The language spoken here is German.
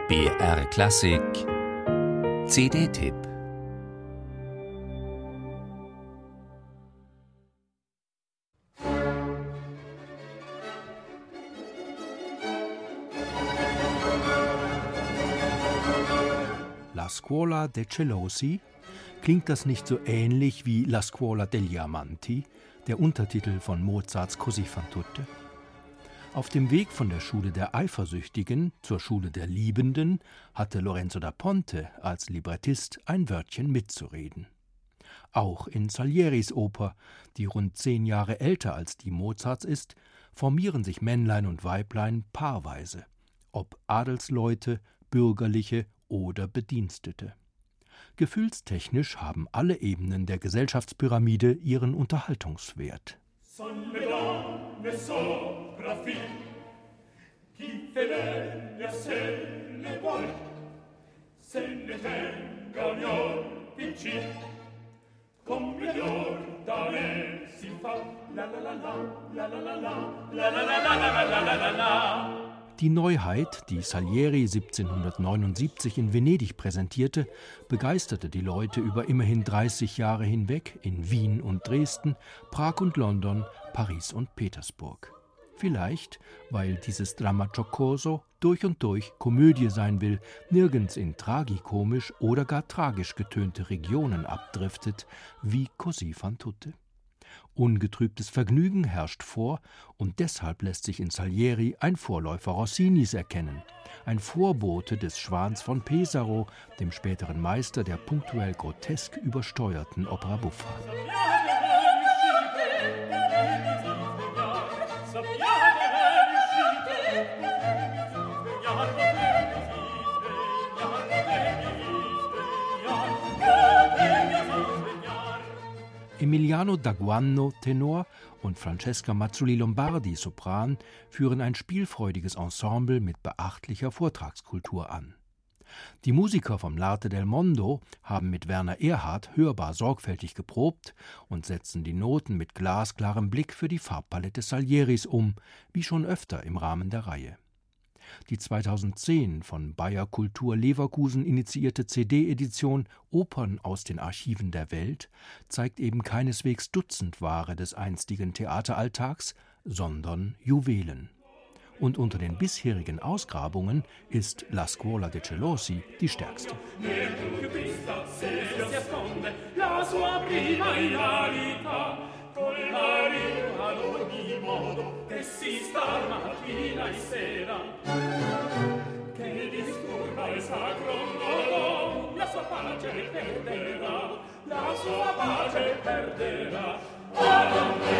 BR Klassik CD-Tipp. La Scuola dei Celosi? Klingt das nicht so ähnlich wie La Scuola degli Amanti, der Untertitel von Mozarts Così fan tutte? Auf dem Weg von der Schule der Eifersüchtigen zur Schule der Liebenden hatte Lorenzo da Ponte als Librettist ein Wörtchen mitzureden. Auch in Salieris Oper, die rund 10 Jahre älter als die Mozarts ist, formieren sich Männlein und Weiblein paarweise, ob Adelsleute, Bürgerliche oder Bedienstete. Gefühlstechnisch haben alle Ebenen der Gesellschaftspyramide ihren Unterhaltungswert. Die Neuheit, die Salieri 1779 in Venedig präsentierte, begeisterte die Leute über immerhin 30 Jahre hinweg in Wien und Dresden, Prag und London, Paris und Petersburg. Vielleicht, weil dieses Dramma Giocoso durch und durch Komödie sein will, nirgends in tragikomisch oder gar tragisch getönte Regionen abdriftet, wie Così fan tutte. Ungetrübtes Vergnügen herrscht vor, und deshalb lässt sich in Salieri ein Vorläufer Rossinis erkennen, ein Vorbote des Schwans von Pesaro, dem späteren Meister der punktuell grotesk übersteuerten Opera buffa. Emiliano Daguanno, Tenor, und Francesca Mazzoli-Lombardi, Sopran, führen ein spielfreudiges Ensemble mit beachtlicher Vortragskultur an. Die Musiker vom L'Arte del Mondo haben mit Werner Erhardt hörbar sorgfältig geprobt und setzen die Noten mit glasklarem Blick für die Farbpalette Salieris um, wie schon öfter im Rahmen der Reihe. Die 2010 von Bayer Kultur Leverkusen initiierte CD-Edition Opern aus den Archiven der Welt zeigt eben keineswegs Dutzendware des einstigen Theateralltags, sondern Juwelen. Und unter den bisherigen Ausgrabungen ist La Scuola dei Celosi die stärkste. La sua pace perderà.